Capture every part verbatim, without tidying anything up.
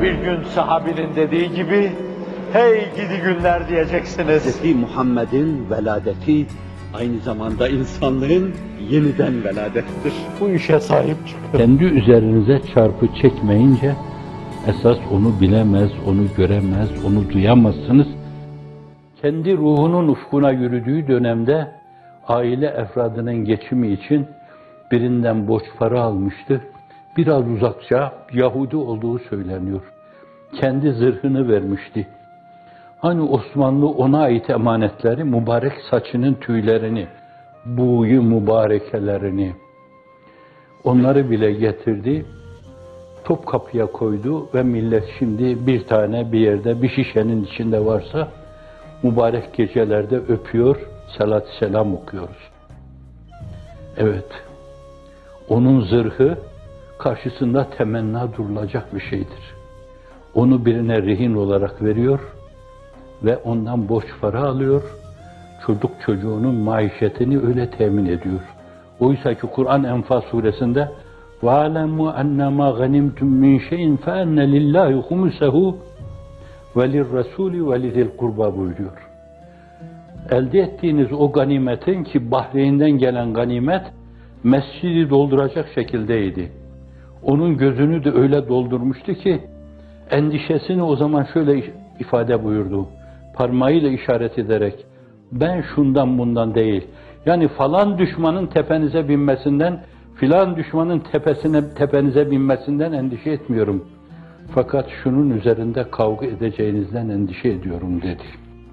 Bir gün sahabinin dediği gibi, hey gidi günler diyeceksiniz. Hazreti Muhammed'in veladeti aynı zamanda insanlığın yeniden veladettir. Bu işe sahip çıkın. Kendi üzerinize çarpı çekmeyince, esas onu bilemez, onu göremez, onu duyamazsınız. Kendi ruhunun ufkuna yürüdüğü dönemde, aile efradının geçimi için birinden borç para almıştı. Biraz uzakça Yahudi olduğu söyleniyor. Kendi zırhını vermişti. Hani Osmanlı ona ait emanetleri, mübarek saçının tüylerini, buğyu mübarekelerini, onları bile getirdi, Topkapı'ya koydu ve millet şimdi bir tane bir yerde, bir şişenin içinde varsa, mübarek gecelerde öpüyor, salat-ı selam okuyoruz. Evet, onun zırhı karşısında temenna durulacak bir şeydir. Onu birine rehin olarak veriyor ve ondan borç para alıyor, çocuk çocuğunun maişetini öyle temin ediyor. Oysa ki Kur'an Enfal suresinde وَعَلَمُوا أَنَّمَا غَنِمْتُمْ مِنْ شَيْءٍ فَأَنَّ لِلّٰهِ خُمُسَهُ وَلِلرَّسُولِ وَلِذِي الْقُرْبَى buyuruyor. Elde ettiğiniz o ganimetin, ki Bahreyn'den gelen ganimet, mescidi dolduracak şekildeydi. Onun gözünü de öyle doldurmuştu ki, endişesini o zaman şöyle ifade buyurdu, parmağıyla işaret ederek, ben şundan bundan değil, yani falan düşmanın tepenize binmesinden, filan düşmanın tepesine, tepenize binmesinden endişe etmiyorum. Fakat şunun üzerinde kavga edeceğinizden endişe ediyorum dedi.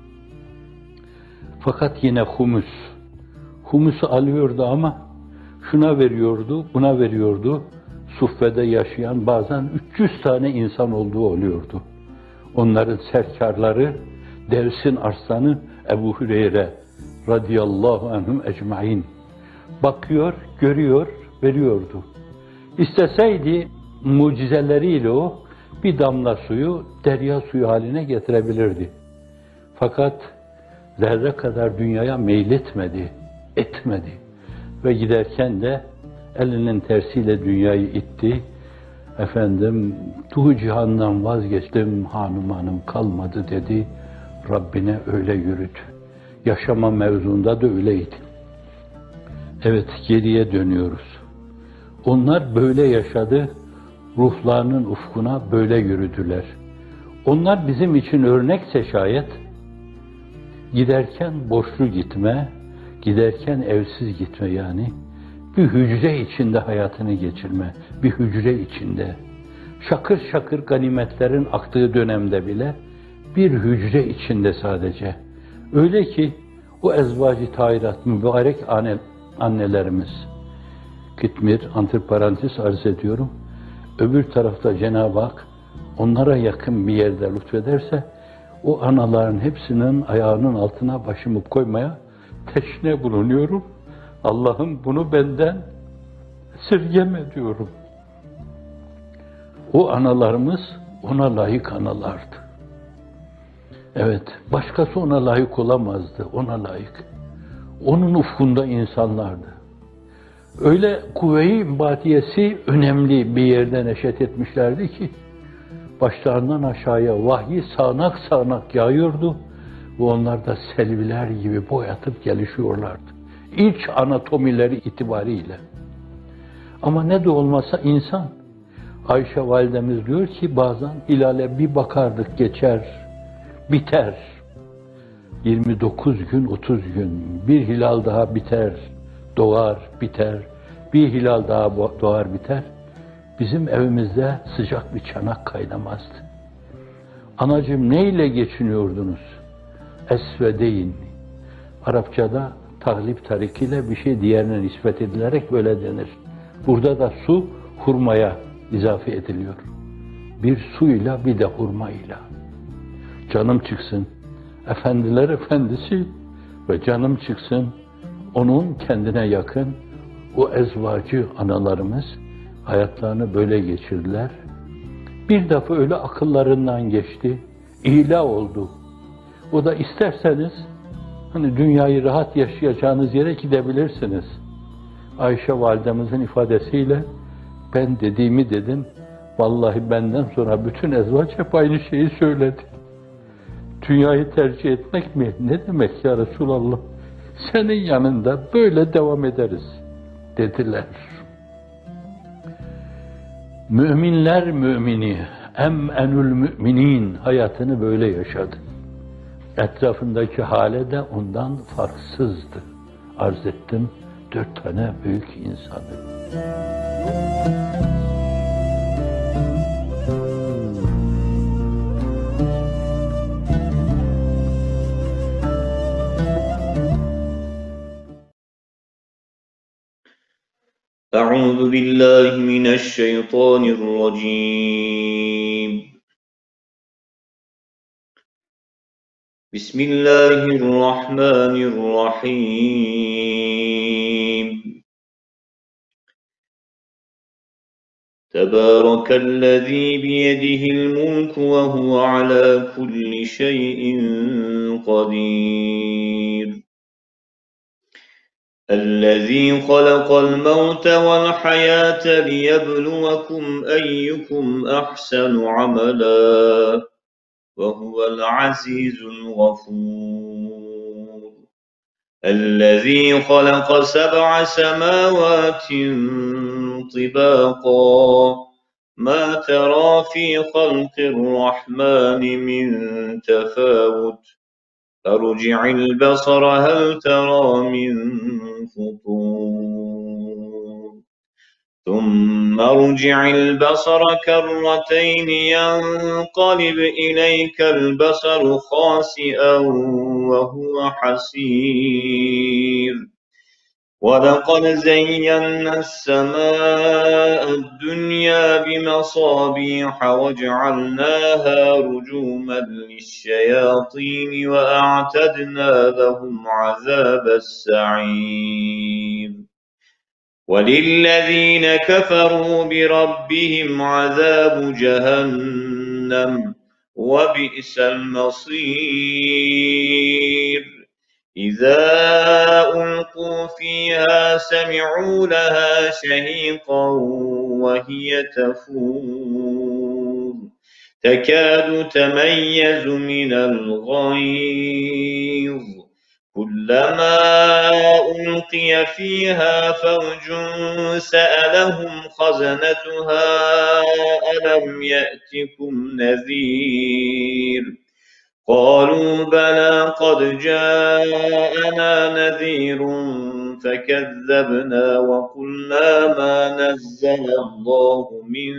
Fakat yine humus, humusu alıyordu ama şuna veriyordu, buna veriyordu. Suffede yaşayan bazen üç yüz tane insan olduğu oluyordu. Onların serkarları, Devs'in arslanı Ebu Hüreyre radıyallahu anhum ecmaîn. Bakıyor, görüyor, veriyordu. İsteseydi mucizeleriyle o bir damla suyu derya suyu haline getirebilirdi. Fakat zerre kadar dünyaya meyletmedi, etmedi. Ve giderken de elinin tersiyle dünyayı itti. Efendim, tuğ cihandan vazgeçtim, hanım hanım kalmadı dedi. Rabbine öyle yürüdü. Yaşama mevzunda da öyleydi. Evet, geriye dönüyoruz. Onlar böyle yaşadı, ruhlarının ufkuna böyle yürüdüler. Onlar bizim için örnekse şayet, giderken borçlu gitme, giderken evsiz gitme yani, bir hücre içinde hayatını geçirme, bir hücre içinde. Şakır şakır ganimetlerin aktığı dönemde bile, bir hücre içinde sadece. Öyle ki, o ezvacı tahirat, mübarek anne, annelerimiz, Kitmir, antiparantez arz ediyorum, öbür tarafta Cenab-ı Hak, onlara yakın bir yerde lütfederse, o anaların hepsinin ayağının altına başımı koymaya teşne bulunuyorum. Allah'ım bunu benden esirgeme diyorum. O analarımız ona layık analardı. Evet, başkası ona layık olamazdı, ona layık. Onun ufkunda insanlardı. Öyle kuvve-i batiyesi önemli bir yerde neşet etmişlerdi ki, başlarından aşağıya vahyi sağanak sağanak yağıyordu ve onlar da selviler gibi boyatıp gelişiyorlardı. İç anatomileri itibariyle. Ama ne de olmasa insan. Ayşe validemiz diyor ki bazen hilale bir bakardık geçer, biter. yirmi dokuz gün, otuz gün, bir hilal daha biter, doğar, biter. Bir hilal daha doğar, biter. Bizim evimizde sıcak bir çanak kaynamazdı. Anacığım neyle geçiniyordunuz? Esvedeyn. Arapçada tahlip tarikiyle bir şey diğerine nispet edilerek böyle denir. Burada da su hurmaya izafe ediliyor. Bir suyla bir de hurmayla. Canım çıksın. Efendiler efendisi ve canım çıksın. Onun kendine yakın o ezvacı analarımız hayatlarını böyle geçirdiler. Bir defa öyle akıllarından geçti. İla oldu. O da isterseniz hani dünyayı rahat yaşayacağınız yere gidebilirsiniz. Ayşe validemizin ifadesiyle ben dediğimi dedim, Vallahi benden sonra bütün ezvaç hep aynı şeyi söyledi. Dünyayı tercih etmek mi? Ne demek ya Resulallah? Senin yanında böyle devam ederiz dediler. Müminler mümini, em'enül müminin hayatını böyle yaşadı. Etrafındaki hale de ondan farksızdı. Arz ettim dört tane büyük insanı. أعوذ بالله من الشيطان الرجيم بسم الله الرحمن الرحيم تبارك الذي بيده الملك وهو على كل شيء قدير الذي خلق الموت والحياة ليبلوكم أيكم أحسن عملا وهو العزيز الغفور الذي خلق سبع سماوات طباقا ما ترى في خلق الرحمن من تفاوت فارجع البصر هل ترى من فطور ثم ارجع البصر كرتين ينقلب إليك البصر خاسئا وهو حسير ولقد زينا السماء الدنيا بمصابيح وجعلناها رجوما للشياطين وأعتدنا لهم عذاب السعير وللذين كفروا بربهم عذاب جهنم وبئس المصير إذا ألقوا فيها سمعوا لها شهيقا وهي تفور تكاد تميز من الغيظ كلما ألقي فيها فوج سألهم خزنتها ألم يأتكم نذير قالوا بلى قد جاءنا نذير فكذبنا وقلنا ما نزل الله من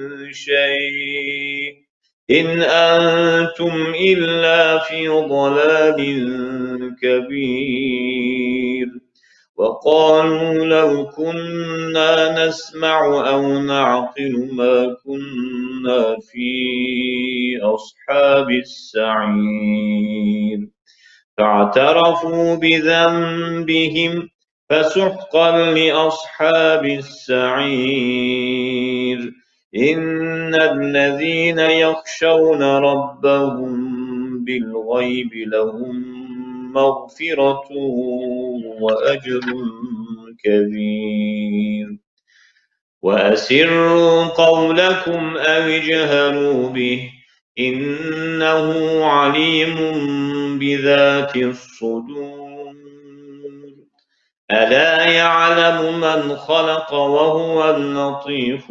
شيء إن أنتم إلا في ضلال كبير وقالوا لو كنا نسمع أو نعقل ما كنا في أصحاب السعير فاعترفوا بذنبهم فسحقا لأصحاب السعير إن الذين يخشون ربهم بالغيب لهم مغفرة وأجر كبير وأسروا قولكم أو اجهروا به إنه عليم بذات الصدور ألا يعلم من خلق وهو اللطيف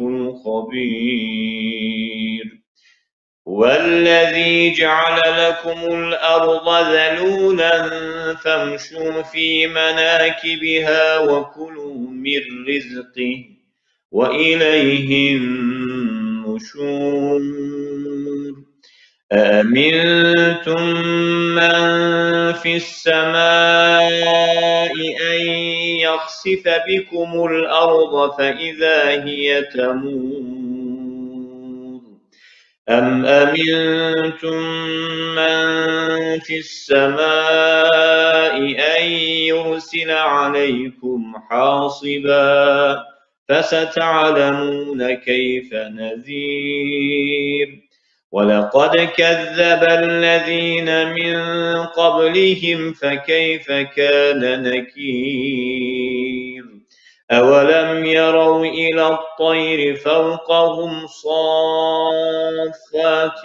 الخبير هو الذي جعل لكم الأرض ذلولا فامشوا في مناكبها وكلوا من رزقه وإليه النشور أأمنتم من في السماء أن يخسف بكم الأرض فإذا هي تمور أم أمنتم من في السماء أن يرسل عليكم حاصبا فستعلمون كيف نذير ولقد كذب الذين من قبلهم فكيف كان نكير أولم يروا إلى الطير فوقهم صافات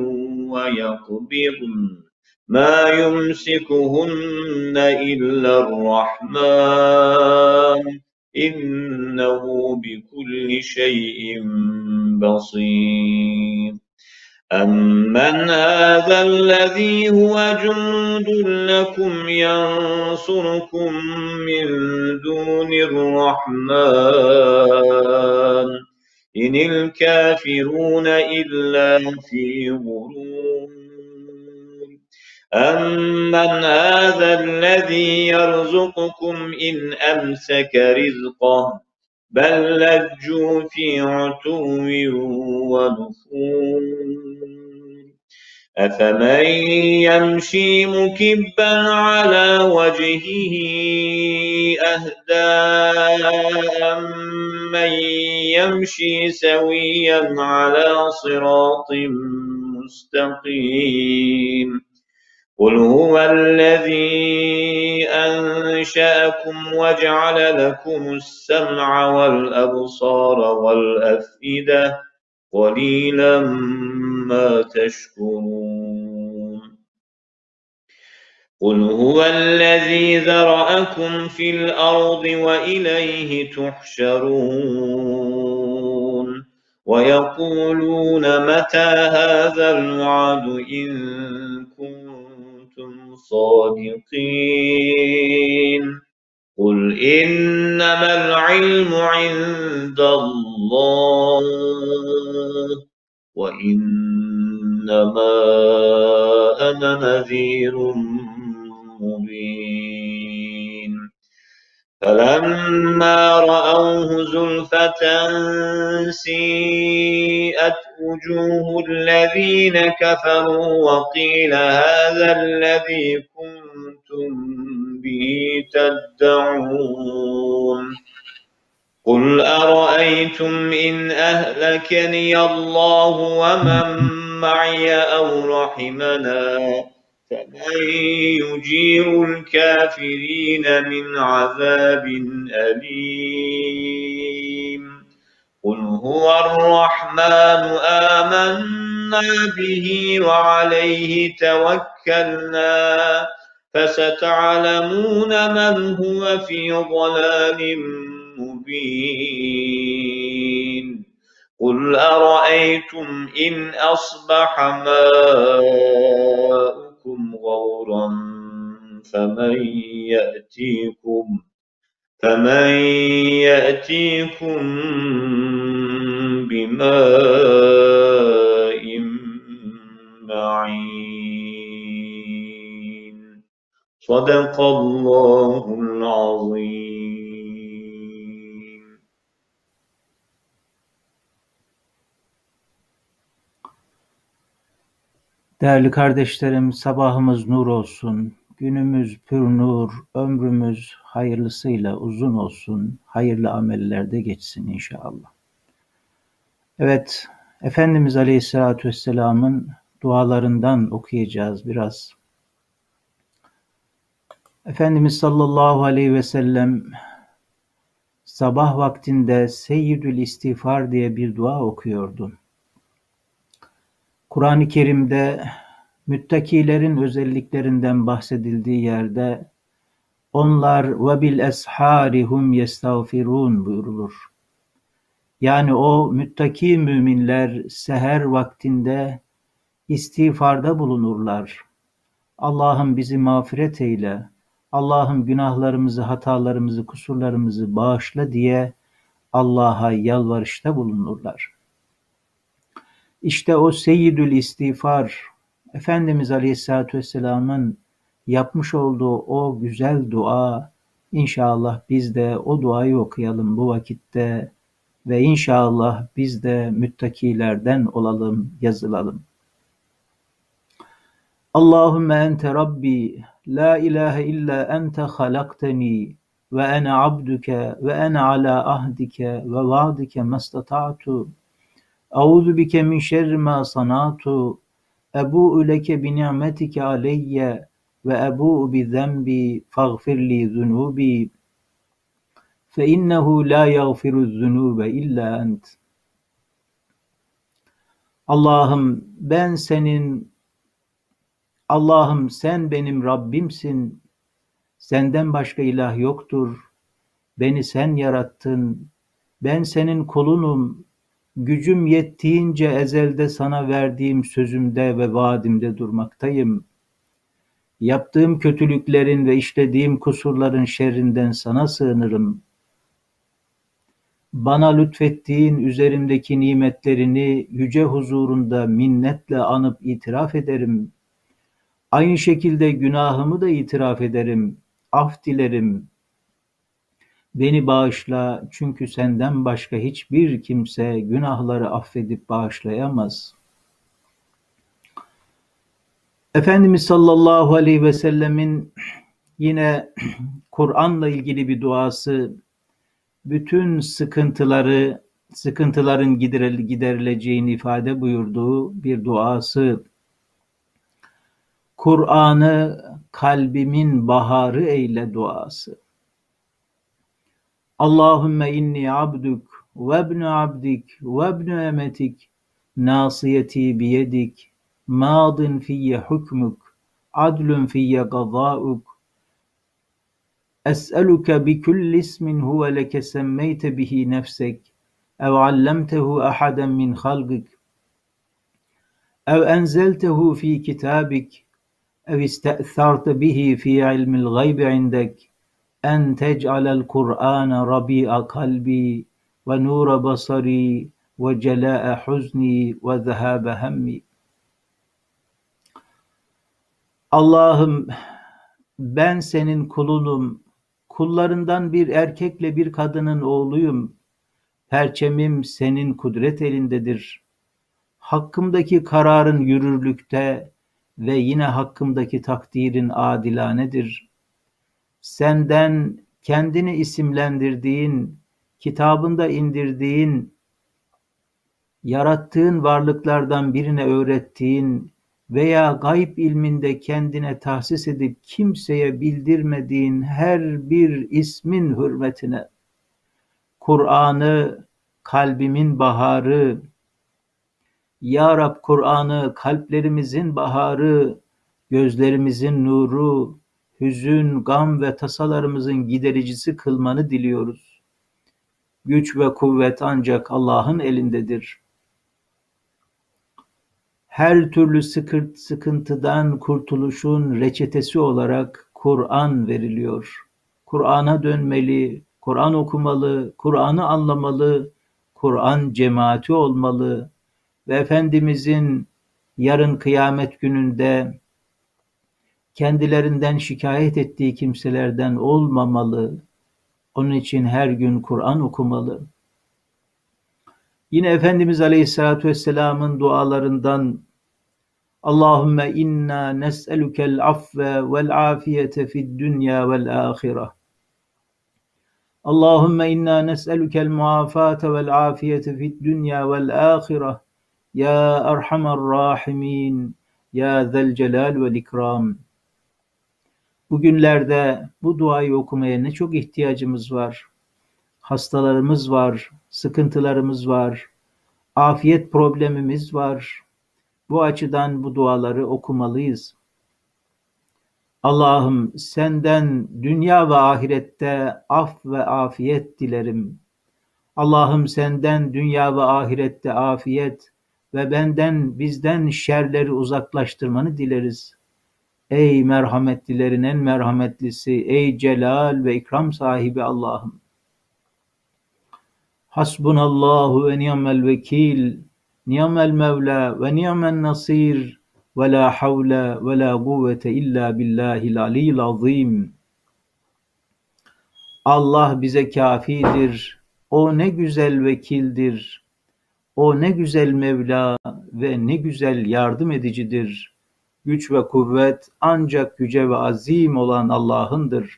ويقبضن ما يمسكهن إلا الرحمن إنه بكل شيء بصير أمن هذا الذي هو جند لكم ينصركم من دون الرحمن إن الكافرون إلا في غرور أمن هذا الذي يرزقكم إن أمسك رزقه بل لجوا في عتو ونفور أفمن يمشي مكبا على وجهه أهدى أمن يمشي سويا على صراط مستقيم قل هو الذي أنشأكم وجعل لكم السمع والأبصار والأفئدة قليلا ما تشكرون قل هو الذي ذرأكم في الأرض وإليه تحشرون ويقولون متى هذا الوعد إن كنتم صادقين قل إنما العلم عند الله وإنما أنا نذير مبين فلما رأوه زلفة سيئت وجوه الذين كفروا وقيل هذا الذي كنتم به تدعون قل أرأيتم إن أهلكني الله ومن معي أو رحمنا فمن يجير الكافرين من عذاب أليم قل هو الرحمن آمنا به وعليه توكلنا فستعلمون من هو في ضلال مبين قل أرأيتم إن أصبح ماؤكم غورا فمن يأتيكم فمن يأتيكم بماء معين صدق الله العظيم. Değerli kardeşlerim, sabahımız nur olsun, günümüz pür nur, ömrümüz hayırlısıyla uzun olsun, hayırlı amellerde geçsin inşallah. Evet, Efendimiz Aleyhisselatü Vesselam'ın dualarından okuyacağız biraz. Efendimiz sallallahu aleyhi ve sellem sabah vaktinde Seyyidül İstiğfar diye bir dua okuyordu. Kur'an-ı Kerim'de müttakilerin özelliklerinden bahsedildiği yerde onlar ve bil eshari hum yestağfirun buyurulur. Yani o müttaki müminler seher vaktinde istiğfarda bulunurlar. Allah'ım bizi mağfiret eyle, Allah'ım günahlarımızı, hatalarımızı, kusurlarımızı bağışla diye Allah'a yalvarışta bulunurlar. İşte o Seyyidül İstiğfar, Efendimiz Aleyhisselatü Vesselam'ın yapmış olduğu o güzel dua, inşallah biz de o duayı okuyalım bu vakitte ve inşallah biz de müttakilerden olalım, yazılalım. Allahümme ente Rabbi, la ilahe illa ente halakteni ve ene abduke ve ene ala ahdike ve vaadike mastata'tu. Euzu bike min şerri ma sanatu. Ebu'u leke bi ni'metike aleyye ve ebu'u bi zenbi faghfirli zunubi. فَاِنَّهُ لَا يَغْفِرُ الذُّنُوبَ اِلَّا اَنْتِ. Allah'ım ben senin, Allah'ım sen benim Rabbimsin, senden başka ilah yoktur, beni sen yarattın, ben senin kulunum, gücüm yettiğince ezelde sana verdiğim sözümde ve vaadimde durmaktayım. Yaptığım kötülüklerin ve işlediğim kusurların şerrinden sana sığınırım. Bana lütfettiğin üzerimdeki nimetlerini yüce huzurunda minnetle anıp itiraf ederim. Aynı şekilde günahımı da itiraf ederim, af dilerim. Beni bağışla çünkü senden başka hiçbir kimse günahları affedip bağışlayamaz. Efendimiz sallallahu aleyhi ve sellemin yine Kur'an'la ilgili bir duası, bütün sıkıntıları, sıkıntıların giderileceğini ifade buyurduğu bir duası, Kur'an'ı kalbimin baharı eyle duası. Allahümme inni abduk ve ibnu abdik ve ibnu emetik nasiyeti biyedik madin fiyye hukmuk adlun fiyye gazâuk es'eluke bi kulli ismin huve leke semmeyte bihi nefsek ev allemtehu ahaden min halgik ev enzeltehu fi kitabik ev iste'tharte bihi fi ilmil gaybi indek en tec'alel Kur'ane rabi'a kalbi ve nura basari ve celâ'e huzni ve zehâbe hemmi. Allah'ım ben senin kulunum, kullarından bir erkekle bir kadının oğluyum, perçemim senin kudret elindedir. Hakkımdaki kararın yürürlükte ve yine hakkımdaki takdirin adilanedir. Senden kendini isimlendirdiğin, kitabında indirdiğin, yarattığın varlıklardan birine öğrettiğin veya gayb ilminde kendine tahsis edip kimseye bildirmediğin her bir ismin hürmetine, Kur'an'ı kalbimin baharı, Ya Rab Kur'an'ı kalplerimizin baharı, gözlerimizin nuru, hüzün, gam ve tasalarımızın gidericisi kılmanı diliyoruz. Güç ve kuvvet ancak Allah'ın elindedir. Her türlü sıkıntıdan kurtuluşun reçetesi olarak Kur'an veriliyor. Kur'an'a dönmeli, Kur'an okumalı, Kur'an'ı anlamalı, Kur'an cemaati olmalı ve Efendimizin yarın kıyamet gününde kendilerinden şikayet ettiği kimselerden olmamalı. Onun için her gün Kur'an okumalı. Yine Efendimiz Aleyhisselatü Vesselam'ın dualarından Allahümme inna nes'elukel afve vel afiyete fid dünya vel ahire. Allahümme inna nes'elukel muafate vel afiyete fid dünya vel ahire. Ya Erhamer Rahimin, Ya Zel Celal vel İkram. Bugünlerde bu duayı okumaya ne çok ihtiyacımız var. Hastalarımız var, sıkıntılarımız var, afiyet problemimiz var. Bu açıdan bu duaları okumalıyız. Allah'ım senden dünya ve ahirette af ve afiyet dilerim. Allah'ım senden dünya ve ahirette afiyet ve benden bizden şerleri uzaklaştırmanı dileriz. Ey merhametlilerin en merhametlisi, ey celal ve ikram sahibi Allah'ım. Hasbunallahu ve ni'mel vekil, ni'mel mevla ve ni'men nasir ve la havle ve la kuvvete illa billahil aliyyil azim. Allah bize kafidir. O ne güzel vekildir. O ne güzel Mevla ve ne güzel yardım edicidir. Güç ve kuvvet ancak yüce ve azim olan Allah'ındır.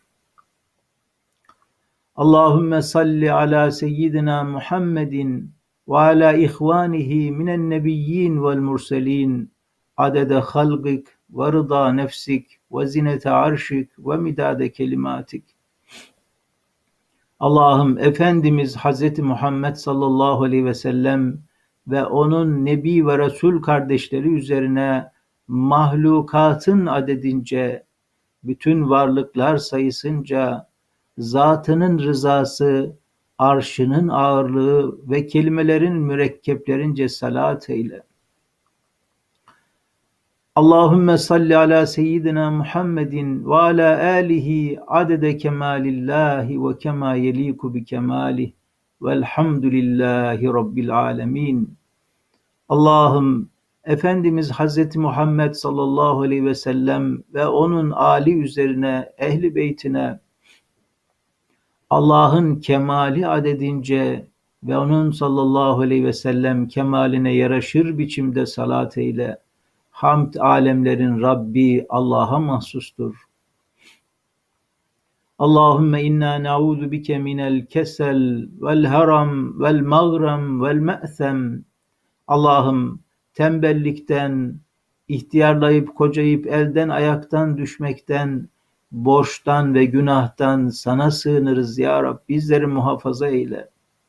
Allahümme salli ala seyyidina Muhammedin ve ala ihvanihi minen nebiyyin vel murselin adede halgik ve rıda nefsik ve zinete arşik ve midade kelimatik. Allah'ım Efendimiz Hazreti Muhammed sallallahu aleyhi ve sellem ve onun Nebi ve Resul kardeşleri üzerine mahlukatın adedince, bütün varlıklar sayısınca, zatının rızası, arşının ağırlığı ve kelimelerin mürekkeplerince salat eyle. Allahümme salli ala seyyidina Muhammedin ve ala alihi adede kemalillahi ve kema yeliku bi kemalih velhamdülillahi rabbil alemin. Allah'ım Efendimiz Hazreti Muhammed sallallahu aleyhi ve sellem ve onun âli üzerine, ehli beytine Allah'ın kemali adedince ve onun sallallahu aleyhi ve sellem kemaline yaraşır biçimde salat eyle. Hamd alemlerin Rabbi Allah'a mahsustur. Allahümme inna na'udhu bike minel kesel vel haram vel mağram vel me'sem. Allah'ım tembellikten, ihtiyarlayıp kocayıp elden ayaktan düşmekten, borçtan ve günahtan sana sığınırız ya Rab. Bizleri muhafaza eyle.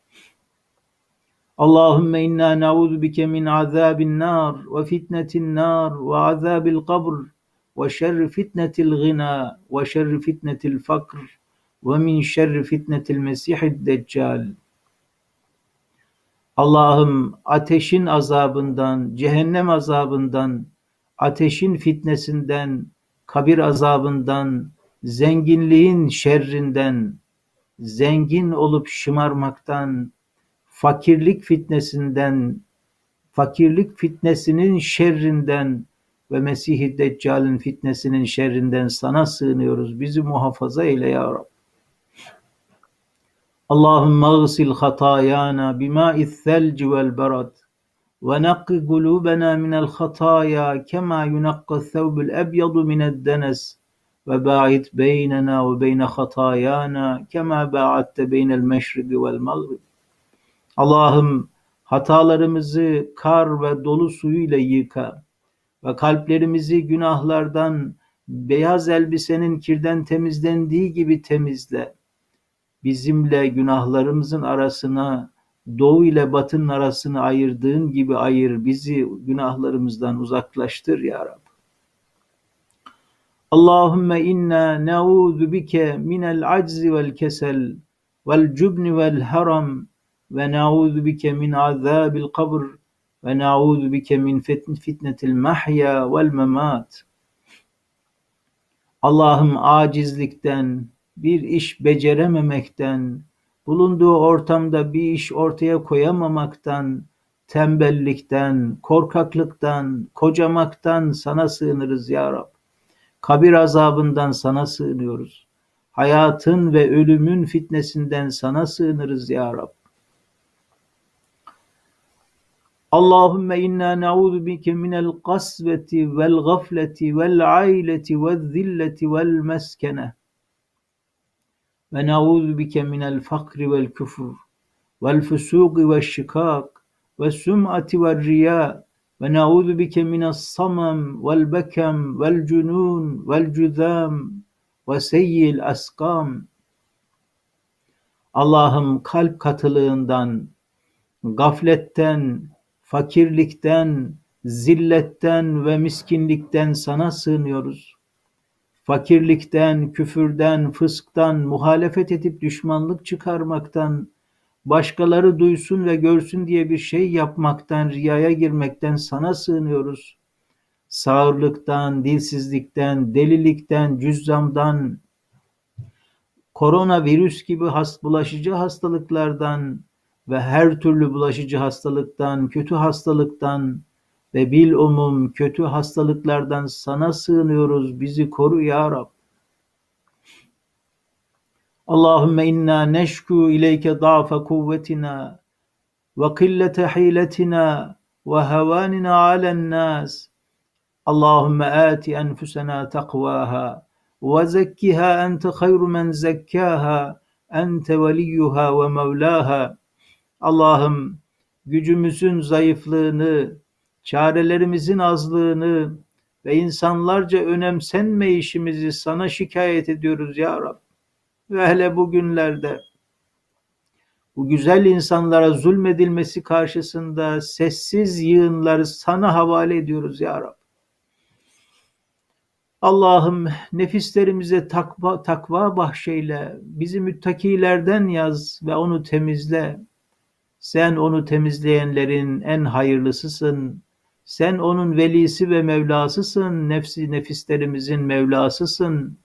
Allahümme inna na'udhu bike min azabin nar ve fitnetin nar ve azabil kabr ve şerri fitnetil gina ve şerri fitnetil fakr ve min şerri fitnetil mesihid deccal. Allah'ım ateşin azabından, cehennem azabından, ateşin fitnesinden, kabir azabından, zenginliğin şerrinden, zengin olup şımarmaktan, fakirlik fitnesinden, fakirlik fitnesinin şerrinden ve Mesih-i Deccal'in fitnesinin şerrinden sana sığınıyoruz. Bizi muhafaza eyle ya Rab. Allahümme gısil hatayana bimâ'iz selci vel berad ve nakki kulûbena minel hataya kema yunakka thawbul ebyadu mined denes ve ba'id beynena ve beyne hatayana kema ba'adte beynel meşriki vel mağrib. Allah'ım hatalarımızı kar ve dolu suyuyla yıka ve kalplerimizi günahlardan beyaz elbisenin kirden temizlendiği gibi temizle. Bizimle günahlarımızın arasına, doğu ile batının arasını ayırdığın gibi ayır. Bizi günahlarımızdan uzaklaştır ya Rab. Allahümme inna na'udhu bike minel aczi vel kesel vel cubni vel haram ve na'udhu bike min azabil kabr ve na'udhu bike min fitnetil mahya vel memat. Allah'ım acizlikten, bir iş becerememekten, bulunduğu ortamda bir iş ortaya koyamamaktan, tembellikten, korkaklıktan, kocamaktan sana sığınırız ya Rab. Kabir azabından sana sığınıyoruz. Hayatın ve ölümün fitnesinden sana sığınırız ya Rab. Allahümme inna na'udhu bike minel kasveti vel gafleti vel aileti vel zilleti vel meskene. Ve na'udhu bike minel fakri vel küfür vel fusuqi vel şikak ve sum'ati vel riya ve na'udhu bike minas samam vel bekam vel cunun vel cüzam ve seyyil askam. Allah'ım kalp katılığından, gafletten, fakirlikten, zilletten ve miskinlikten sana sığınıyoruz. Fakirlikten, küfürden, fısktan, muhalefet edip düşmanlık çıkarmaktan, başkaları duysun ve görsün diye bir şey yapmaktan, riyaya girmekten sana sığınıyoruz. Sağırlıktan, dilsizlikten, delilikten, cüzzamdan, koronavirüs gibi hast bulaşıcı hastalıklardan ve her türlü bulaşıcı hastalıktan, kötü hastalıktan ve bilumum kötü hastalıklardan sana sığınıyoruz. Bizi koru ya Rab. Allahümme inna neşku ileyke da'fe kuvvetina ve killete hiletina ve hevanina alen nas. Allahümme ati enfusena takvaha ve zekkiha ente hayru men zekkaha ente veliyyuha ve mevlaha. Allah'ım gücümüzün zayıflığını, çarelerimizin azlığını ve insanlarca önemsenmeyişimizi sana şikayet ediyoruz ya Rab. Ve hele bugünlerde bu güzel insanlara zulmedilmesi karşısında sessiz yığınları sana havale ediyoruz ya Rab. Allah'ım nefislerimize takva, takva bahşeyle, bizi müttakilerden yaz ve onu temizle. Sen onu temizleyenlerin en hayırlısısın. Sen onun velisi ve Mevlasısın. Nefsi nefislerimizin Mevlasısın.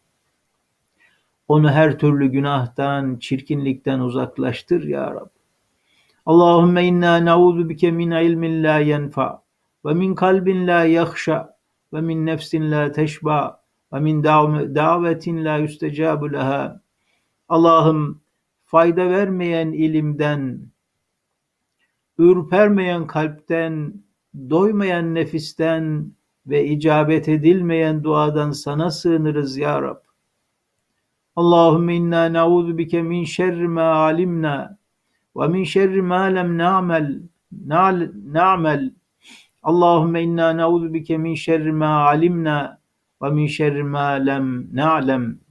Onu her türlü günahtan, çirkinlikten uzaklaştır ya Rab. Allahümme inna na'udhu bike min ilmin la yenfa ve min kalbin la yakhşa ve min nefsin la teşba ve min davetin la yüstecabu leha. Allah'ım fayda vermeyen ilimden, ürpermeyen kalpten, doymayan nefisten ve icabet edilmeyen duadan sana sığınırız ya Rab. Allahümme inna na'udhu bike min şerri ma alimna ve min şerri ma lem na'mel na'mel. Allahümme inna na'udhu bike min şerri ma alimna ve min şerri ma lem na'lem.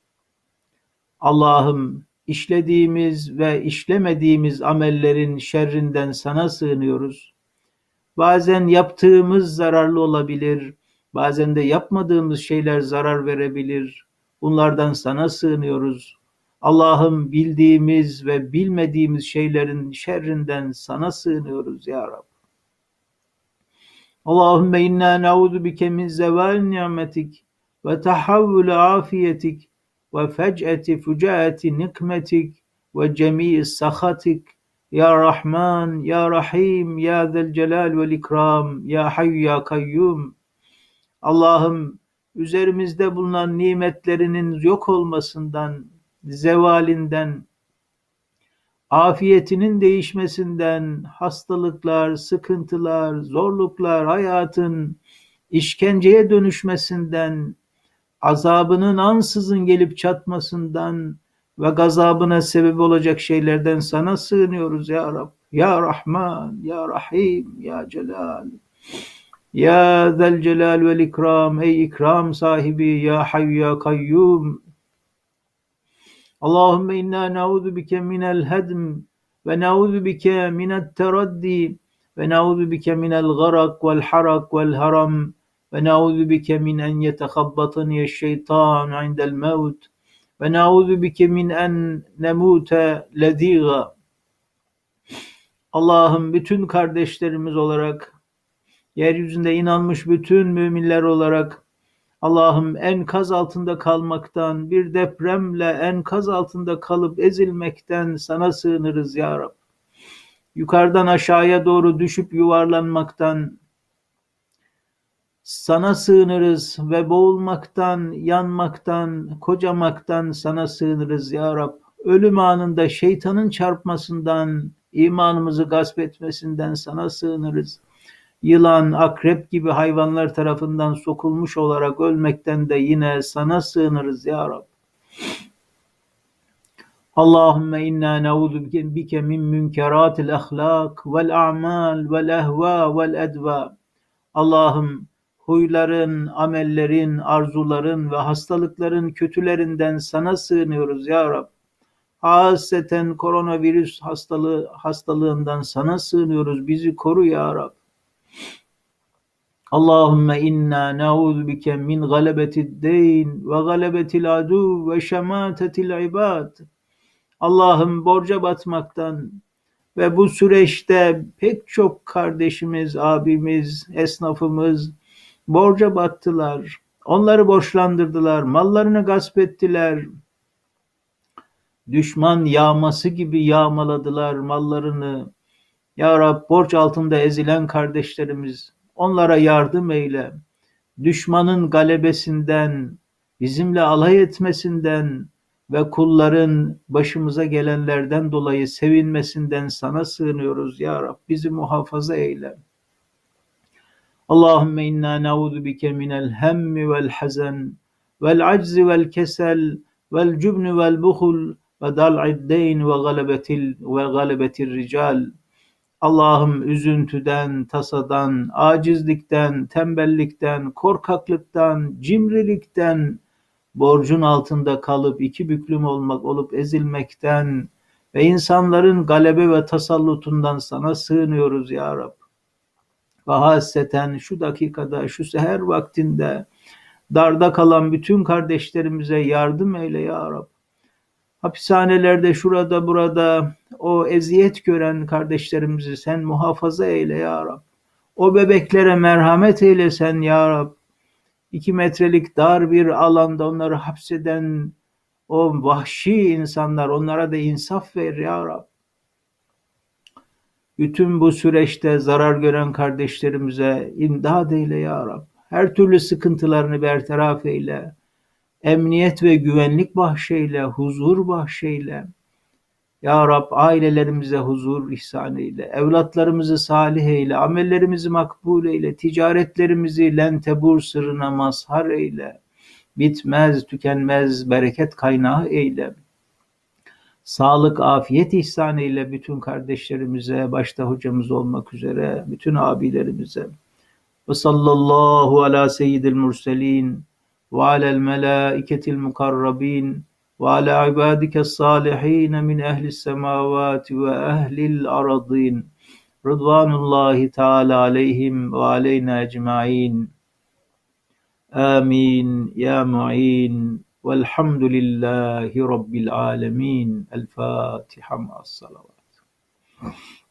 Allah'ım işlediğimiz ve işlemediğimiz amellerin şerrinden sana sığınıyoruz. Bazen yaptığımız zararlı olabilir, bazen de yapmadığımız şeyler zarar verebilir. Bunlardan sana sığınıyoruz. Allah'ım bildiğimiz ve bilmediğimiz şeylerin şerrinden sana sığınıyoruz ya Rab. Allahümme inna na'udhu bike min zeval ni'metik ve tahavvül afiyetik ve fec'eti fücaeti nikmetik ve cemii sahatik ya Rahman, ya Rahim, ya Zel Celal vel İkram, ya Hayy, ya Kayyum. Allah'ım üzerimizde bulunan nimetlerinin yok olmasından, zevalinden, afiyetinin değişmesinden, hastalıklar, sıkıntılar, zorluklar, hayatın işkenceye dönüşmesinden, azabının ansızın gelip çatmasından ve gazabına sebep olacak şeylerden sana sığınıyoruz ya Rab. Ya Rahman, ya Rahim, ya Celal. Ya Zel Celal vel İkram, ey ikram sahibi, ya Hayy, ya Kayyum. Allahümme inna na'udhu bike minel hedm ve na'udhu bike minet teraddi ve na'udhu bike minel garak vel harak vel haram ve na'udhu bike min en yetekhabbatani şeytan indel mevt ve na'udhu bike min en nemute lediga. Allah'ım bütün kardeşlerimiz olarak, yeryüzünde inanmış bütün müminler olarak, Allah'ım enkaz altında kalmaktan, bir depremle enkaz altında kalıp ezilmekten sana sığınırız ya Rab. Yukarıdan aşağıya doğru düşüp yuvarlanmaktan sana sığınırız ve boğulmaktan, yanmaktan, kocamaktan sana sığınırız ya Rab. Ölüm anında şeytanın çarpmasından, imanımızı gasp etmesinden sana sığınırız. Yılan, akrep gibi hayvanlar tarafından sokulmuş olarak ölmekten de yine sana sığınırız ya Rab. Allahümme inna na'udhu bike min münkeratil ahlak vel a'mal vel ehva vel edva. Allah'ım huyların, amellerin, arzuların ve hastalıkların kötülerinden sana sığınıyoruz ya Rab. Haseten koronavirüs hastalığı hastalığından sana sığınıyoruz. Bizi koru ya Rab. Allahümme inna na'udhu bike min galebetid deyn ve galebetil adu ve şematetil ibad. Allah'ım borca batmaktan ve bu süreçte pek çok kardeşimiz, abimiz, esnafımız borca battılar. Onları borçlandırdılar, mallarını gasp ettiler. Düşman yağması gibi yağmaladılar mallarını. Ya Rab, borç altında ezilen kardeşlerimiz, onlara yardım eyle. Düşmanın galebesinden, bizimle alay etmesinden ve kulların başımıza gelenlerden dolayı sevinmesinden sana sığınıyoruz ya Rab. Bizi muhafaza eyle. Allahümme inna na'udhu bike minel hemmi vel hazen vel aczi vel kesel vel cübnü vel buhul ve dal'id deyn ve galebetil ve galebetir rical. Allah'ım üzüntüden, tasadan, acizlikten, tembellikten, korkaklıktan, cimrilikten, borcun altında kalıp iki büklüm olmak olup ezilmekten ve insanların galebe ve tasallutundan sana sığınıyoruz ya Rab. Ve hasreten şu dakikada, şu seher vaktinde darda kalan bütün kardeşlerimize yardım eyle ya Rab. Hapishanelerde, şurada burada o eziyet gören kardeşlerimizi sen muhafaza eyle ya Rab. O bebeklere merhamet eyle sen ya Rab. İki metrelik dar bir alanda onları hapseden o vahşi insanlar, onlara da insaf ver ya Rab. Bütün bu süreçte zarar gören kardeşlerimize imdad eyle ya Rab. Her türlü sıkıntılarını bertaraf eyle. Emniyet ve güvenlik bahşeyle, huzur bahşeyle. Ya Rab, ailelerimize huzur ihsan eyle. Evlatlarımızı salih eyle. Amellerimizi makbul eyle. Ticaretlerimizi lentebur sırrına mazhar eyle. Bitmez, tükenmez bereket kaynağı eyle. Sağlık, afiyet ihsan eyle bütün kardeşlerimize, başta hocamız olmak üzere, bütün abilerimize. Ve sallallahu ala seyyidil murselin ve alel melâiketil mukarrabin ve ala ibadikes salihin min ehlis semavati ve ehlil aradin. Rıdvanullahi Teala aleyhim ve aleyna ecmaîn. Amin ya mu'in. Velhamdülillahi Rabbil alemin. El Fatiha ma'as salavat.